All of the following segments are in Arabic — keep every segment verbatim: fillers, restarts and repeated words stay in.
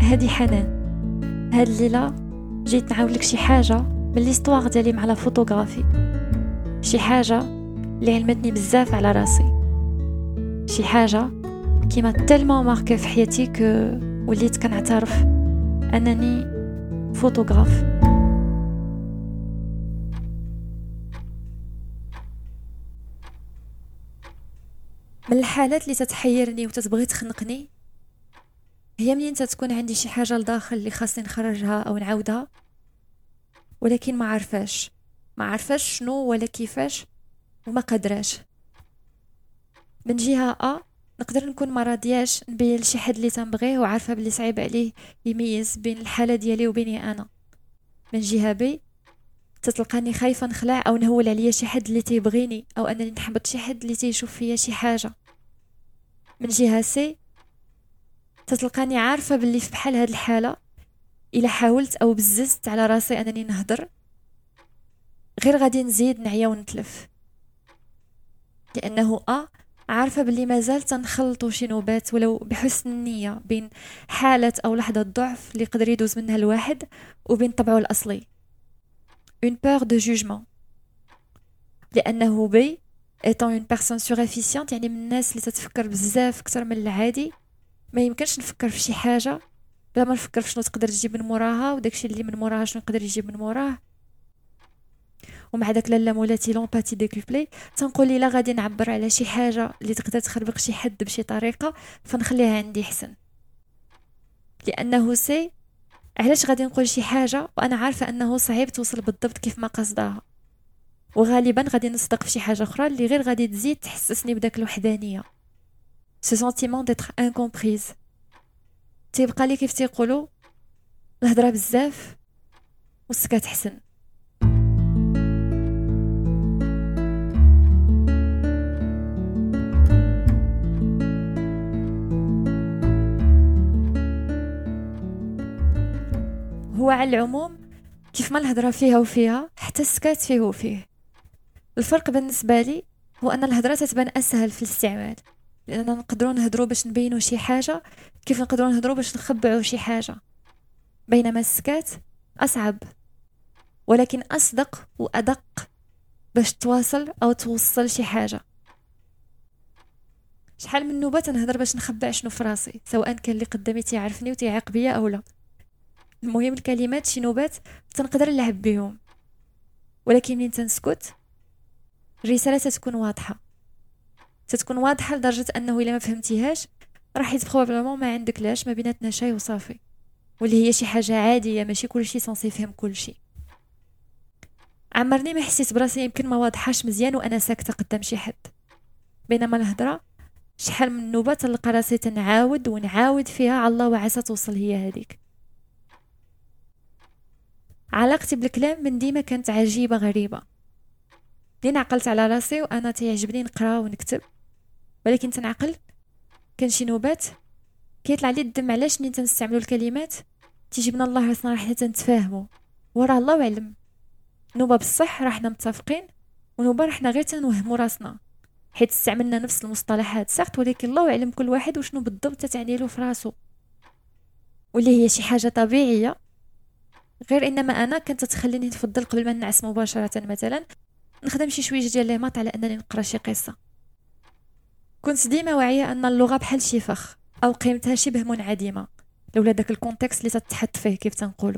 هادي حنان. هاد الليله جيت نعاود لك شي حاجه من ليستوار ديالي مع لا فوتوغرافي، شي حاجه اللي علمتني بزاف على راسي، شي حاجه كيما تلمون ماركي في حياتي ك وليت كنعترف انني فوتوغراف. من الحالات اللي تتحيرني وتتبغي تخنقني هي منين تتكون عندي شي حاجه لداخل اللي خاصني نخرجها او نعاودها، ولكن ما عارفاش ما عارفاش شنو ولا كيفاش وما قادراش. من جهه ا نقدر نكون ما راضياش نبين لشي حد اللي تنبغيه وعارفه بلي صعيب عليه يميز بين الحاله ديالي وبيني انا. من جهه بي تتلقاني خايفه نخلع او نهول عليا شي حد اللي تيبغيني او انني نحبط شي حد اللي تيشوف فيا شي حاجه. من جهه سي تتلقاني عارفه باللي في بحال هاد الحاله الا حاولت او بززت على راسي انني نهضر غير غادي نزيد نعيا ونتلف، لانه ا عارفه باللي مازال تنخلطوا شي نوبات ولو بحسن النيه بين حاله او لحظه ضعف اللي يقدر يدوز منها الواحد وبين طبعه الاصلي une peur de jugement. لانه بي étant une personne surefficiente، يعني من الناس اللي تتفكر بزاف اكثر من العادي، ما يمكنش نفكر في شي حاجه بلا ما نفكر في شنو تقدر تجيب من موراها وداكشي اللي من موراها شنو يقدر يجيب من موراه. ومع داك لالا مولاتي لومباتي ديكوبلي تنقول لي لا غادي نعبر على شي حاجه اللي تقدر تخربق شي حد بشي طريقه فنخليها عندي حسن، لانه سي علاش غادي نقول شي حاجه وانا عارفه انه صعيب توصل بالضبط كيف ما قصدها، وغالبا غادي نصدق في شي حاجه اخرى اللي غير غادي تزيد تحسسني بداك الوحدانيه، ce sentiment d'être incomprise. تيبقى لي كيف تيقولوا الهضره بزاف والسكات حسن. هو على العموم كيف ما الهضره فيها وفيها حتى السكات فيه وفيه. الفرق بالنسبه لي هو ان الهضره تتبان اسهل في الاستعمال، لاننا نقدروا نهضروا باش نبينوا شي حاجه كيف نقدروا نهضروا باش نخبعوا شي حاجه، بينما السكات اصعب ولكن اصدق وادق باش تواصل او توصل شي حاجه. شحال من نوبه تنهضر باش نخبع شنو في راسي، سواء كان اللي قدامي تيعرفني وتيعاق بيا او لا. المهم الكلمات شي نوبات تنقدر نلعب بهم، ولكن منين تنسكت الرساله تتكون واضحه تتكون واضحه لدرجه انه الا ما فهمتيهاش راح يتبروبلمون ما عندك لاش ما بيناتنا شي وصافي، واللي هي شي حاجه عاديه ماشي كلشي صنصي يفهم كلشي. عمرني ما حسيت براسي يمكن ما واضحاش مزيان وانا ساكته قدام شي حد، بينما الهضره شحال من نوبه تلقى راسي تنعاود ونعاود فيها على الله وعسى توصل هي هذيك. علاقتي بالكلام من ديما كانت عجيبه غريبه، لين عقلت على راسي وانا تيعجبني نقرا ونكتب، ولكن تنعقل كان شي نوبات كيطلع لي الدم علاش منين تنستعملوا الكلمات تيجيبنا الله راسنا راح نتفاهموا وراه الله اعلم. نوبه بصح راح حنا متفقين ونوبه راح غير تنوهموا راسنا حيت استعملنا نفس المصطلحات سقط، ولكن الله اعلم كل واحد وشنو بالضبط تتعني له في راسو، واللي هي شي حاجه طبيعيه. غير انما انا كنت تخليني نفضل قبل ما نعس مباشره مثلا نخدم شي شويه ديال لي مات على انني نقرا شي قصه. كنت ديما واعيه ان اللغه بحال شي فخ او قيمتها شبه منعدمه لولا داك الكونتكست اللي تتحط فيه كيف تنقولوا.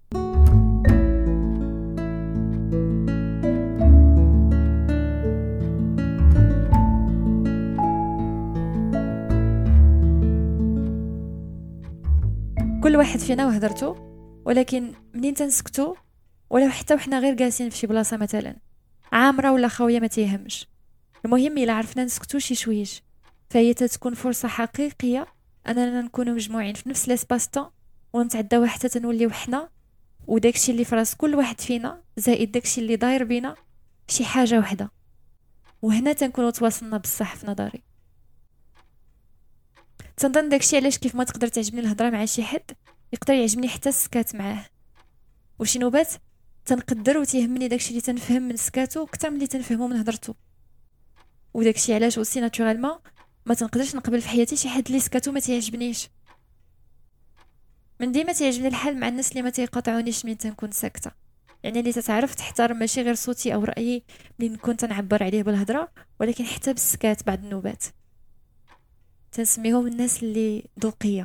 كل واحد فينا وهدرته، ولكن منين تنسكتو ولو حتى وحنا غير جالسين في شي بلاصه مثلا عامره ولا خاويه ما تيهمش، المهم الا عرفنا نسكتو شي شويش فهي تتكون فرصه حقيقيه اننا نكونوا مجموعين في نفس ليسباس طون ونتعداو حتى تنوليو حنا وداكشي اللي في راس كل واحد فينا زائد داكشي اللي داير بينا شي حاجه وحده، وهنا تنكونوا تواصلنا بصح في نظري. تنظن داكشي علاش كيف ما تقدر تعجبني الهضره مع شي حد يقدر يعجبني حتى السكات معاه، وشي نوبات تنقدر وتيهمني داكشي اللي تنفهم من سكاتو اكثر من اللي تنفهمو من هضرتو، وداكشي علاش اوسي ناتورالمون ما تنقدرش نقبل في حياتي شي حد اللي سكاتو ما تيعجبنيش. من ديما تيعجبني الحال مع الناس اللي ما تيقاطعونيش من تنكون ساكته، يعني اللي تتعرف تحترم ماشي غير صوتي او رايي اللي نكون تنعبر عليه بالهضره، ولكن حتى بالسكات بعد النوبات. تنسميهم الناس اللي ذوقيه.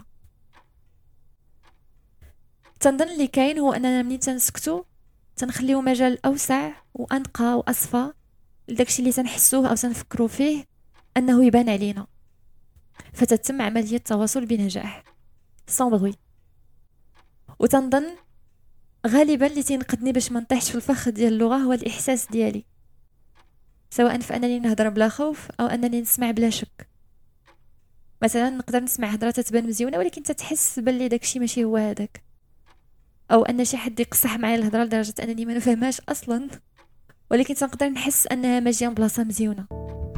تنظن اللي كاين هو اننا منين تنسكتو تنخليو مجال اوسع وانقى واصفى لداكشي اللي تنحسوه او تنفكروا فيه انه يبان علينا، فتتم عمليه التواصل بنجاح sans bruit. وتنظن غالبا اللي تينقذني باش ما نطيحش في الفخ ديال اللغه هو الاحساس ديالي، سواء في انني نهضر بلا خوف او انني نسمع بلا شك. مثلا نقدر نسمع هضره تتبان مزيونه ولكن تتحس باللي داكشي ماشي هو هذاك، او ان شي حد يقصح معايا الهضره لدرجه انني ما نفهمهاش اصلا، ولكن تنقدر نحس انها ماشيه بلاصه مزيونه.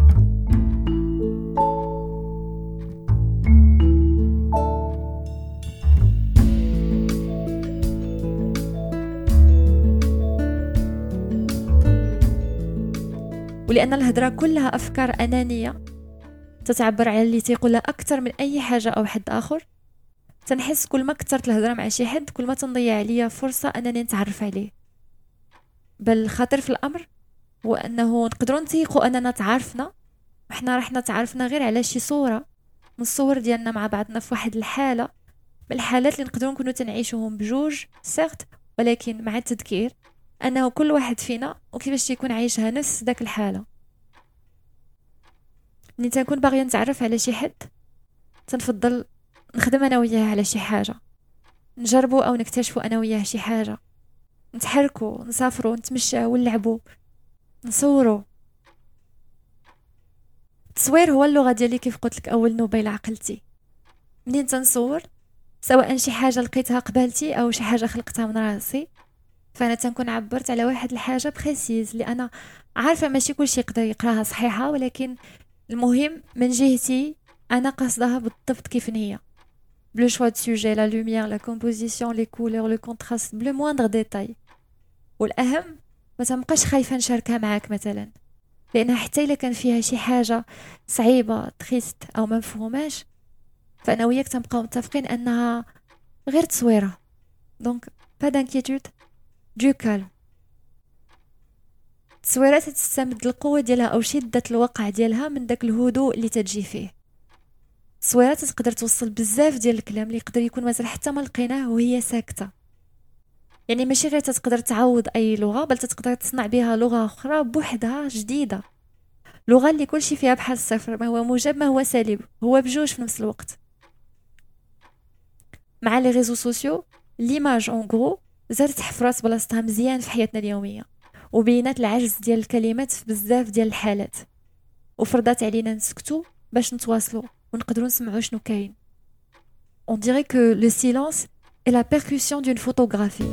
ولان الهضره كلها افكار انانيه تتعبر على اللي تيقولها اكثر من اي حاجه او حد اخر، تنحس كل ما كثرت الهضره مع شي حد كل ما تنضيع عليا فرصه انني نتعرف عليه. بل الخطر في الامر هو انه نقدروا نتيقوا اننا تعرفنا وحنا رحنا تعرفنا غير على شي صوره من الصور ديالنا مع بعضنا في واحد الحاله من الحالات اللي نقدروا نكونوا تنعيشوهم بجوج سيغت، ولكن مع التذكير انه كل واحد فينا وكيفاش تيكون عايشها نفس داك الحاله. ملي تنكون باغيه نتعرف على شي حد تنفضل نخدم انا وياه على شي حاجه، نجربوا او نكتشفوا انا وياه شي حاجه، نتحركوا نسافروا نتمشاو ونلعبوا نصوروا. التصوير هو اللغه ديالي كيف قلت لك اول نوبه الى عقلتي. منين تنصور سواء شي حاجه لقيتها قبالتي او شي حاجه خلقتها من راسي، فانا تنكون عبرت على واحد الحاجه بخيسيز اللي انا عارفه ماشي كلشي يقدر يقراها صحيحه، ولكن المهم من جهتي انا قصدها بالضبط كيف هي، بلو شوا دو سوجي، لا لوميير، لا كومبوزيسيون، لي كولور، لو كونتراست، بلو موندر ديتاي. والاهم ما تبقاش خايفه نشاركها معاك مثلا، لانها حتى الا كان فيها شي حاجه صعيبه تريست او ما مفهوماش، فانا وياك تنبقاو متفقين انها غير تصويره. دونك با دانكيتود، دو كالم. التصويرات تستمد القوه ديالها او شده الوقع ديالها من داك الهدوء اللي تجي فيه. التصويرات تقدر توصل بزاف ديال الكلام اللي يقدر يكون مثلا حتى ما لقيناه وهي ساكته. يعني ماشي غير تقدر تعوض اي لغه، بل تقدر تصنع بها لغه اخرى بوحدها جديده، لغه اللي كل شيء فيها بحال الصفر، ما هو موجب ما هو سالب، هو بجوج في نفس الوقت. مع لي ريزو سوسيو ليماج اون غرو زادت حفرات بلاصتها مزيان في حياتنا اليوميه، وبينات العجز ديال الكلمات في بزاف ديال الحالات، وفرضات علينا نسكتو باش نتواصلوا ونقدروا نسمعوا شنو كاين. On dirait que le silence est la percussion d'une photographie.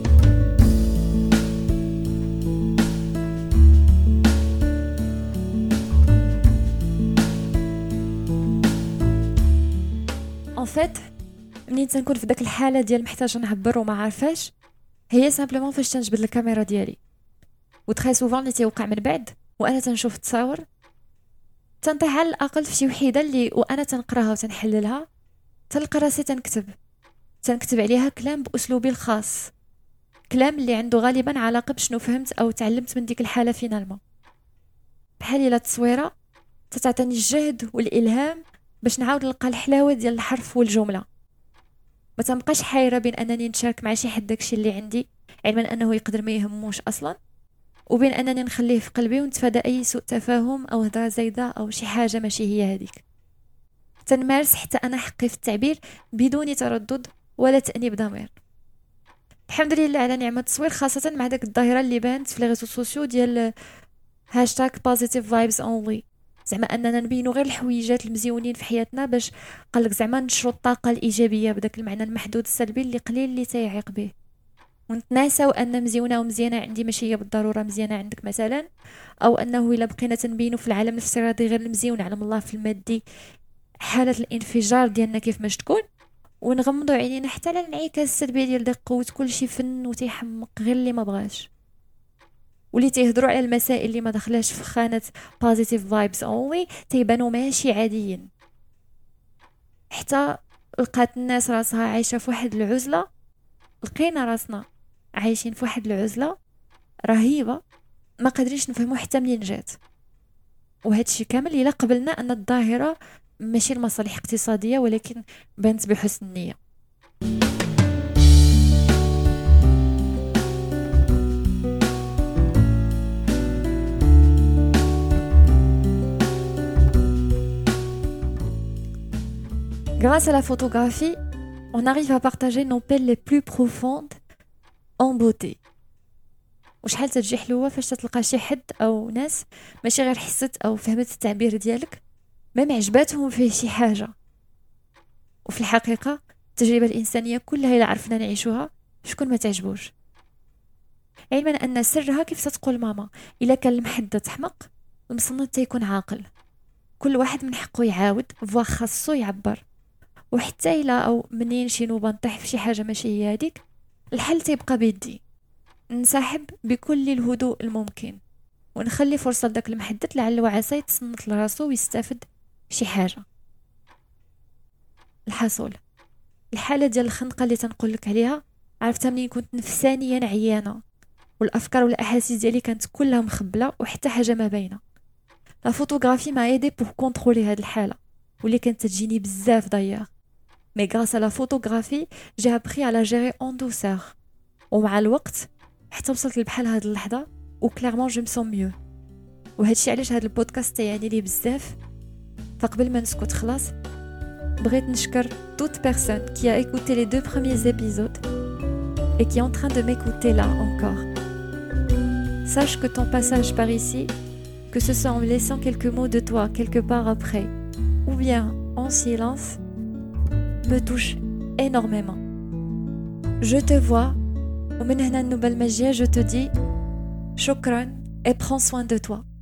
En fait, منين تنكون في داك الحاله ديال محتاجه نعبر وما عارفاش، هي سامبلومون فاش تنجبد الكاميرا ديالي. وتخي سوفون اللي تيوقع من بعد وانا تنشوف التصاور تنطيح على الاقل في شي وحيده اللي وانا تنقراها وتنحللها تلقى راسي تنكتب تنكتب عليها كلام باسلوبي الخاص، كلام اللي عنده غالبا علاقه بشنو فهمت او تعلمت من ديك الحاله فينالمون. بحال الا التصويره تتعطيني الجهد والالهام باش نعاود نلقى الحلاوه ديال الحرف والجمله، ما تنبقاش حايره بين انني نشارك مع شي حد داكشي اللي عندي علما انه يقدر ما يهموش اصلا، وبين انني نخليه في قلبي ونتفادى اي سوء تفاهم او هضره زايده او شي حاجه ماشي هي هذيك. تنمارس حتى انا حقي في التعبير بدون تردد ولا تانيب ضمير. الحمد لله على نعمه التصوير، خاصه مع داك الظاهره اللي بانت في لي ريزو سوسيو ديال هاشتاغ positive vibes only، زعما اننا نبينوا غير الحويجات المزيونين في حياتنا باش قالك زعما نشروا الطاقه الايجابيه بداك المعنى المحدود السلبي اللي قليل اللي تيعيق به، ونتناساو ان مزيونه ومزيانه عندي ماشي هي بالضروره مزيانه عندك مثلا، او انه الا بقينا تنبينوا في العالم الافتراضي غير المزيون علم الله في المادي حاله الانفجار ديالنا كيف ماش تكون، ونغمضوا عينينا حتى على الانعكاس السلبي ديال داك قوه كلشي فن وتيحمق غير اللي ما بغاش، واللي تيهضروا على المسائل اللي ما دخلاش في خانه positive vibes only تيبانوا ماشي عاديين. حتى لقات الناس راسها عايشه في واحد العزله لقينا راسنا عايشين في واحد العزلة رهيبة ما قادرينش نفهمو حتى منين جات. وهذا الشيء كامل إلا قبلنا أن الظاهرة ماشي المصالح اقتصادية ولكن بانت بحسن النية. Grâce à la photographie, on arrive à partager nos peines les plus profondes en beauté. وشحال تجي حلوة فاش تلقى شي حد أو ناس ماشي غير حست أو فهمت التعبير ديالك ما معجباتهم فيه شي حاجة. وفي الحقيقة التجربة الإنسانية كلها إلا عرفنا نعيشوها شكون ما تعجبوش. علما أن سرها كيف تتقول ماما إلا كان المحدث حمق المصنت تيكون عاقل. كل واحد من حقه يعاود فوا خاصو يعبر. وحتى إلا أو منين شي نوبة نطيح في شي حاجة ماشي هي هذيك الحل تيبقى بيدي. نسحب بكل الهدوء الممكن ونخلي فرصة لداك المحدث لعل وعسى يتصنت لراسو ويستافد شي حاجة. الحصول الحالة ديال الخنقة اللي تنقولك عليها عرفتها منين كنت نفسانيا عيانة والأفكار والأحاسيس ديالي كانت كلها مخبلة وحتى حاجة ما باينة. لا فوتوغرافي ما ايدي بور كونترولي هاد الحالة واللي كانت تجيني بزاف ضياغ. مي غراس لا فوتوغرافي جي ابري على جيري اون دوسور ومع الوقت حتى وصلت لبحال هاد اللحظة وكلارمون جو مسون ميو. وهادشي علاش هاد البودكاست تيعني لي بزاف. فقبل ما نسكت خلاص بغيت نشكر toute personne qui a écouté les deux premiers épisodes et qui est en train de m'écouter là encore. Sache que ton passage par ici, que ce soit en me laissant quelques mots de toi quelque part après ou bien en silence, me touche énormément. Je te vois ومن هنا النوبة المجية je te dis شكرا et prends soin de toi.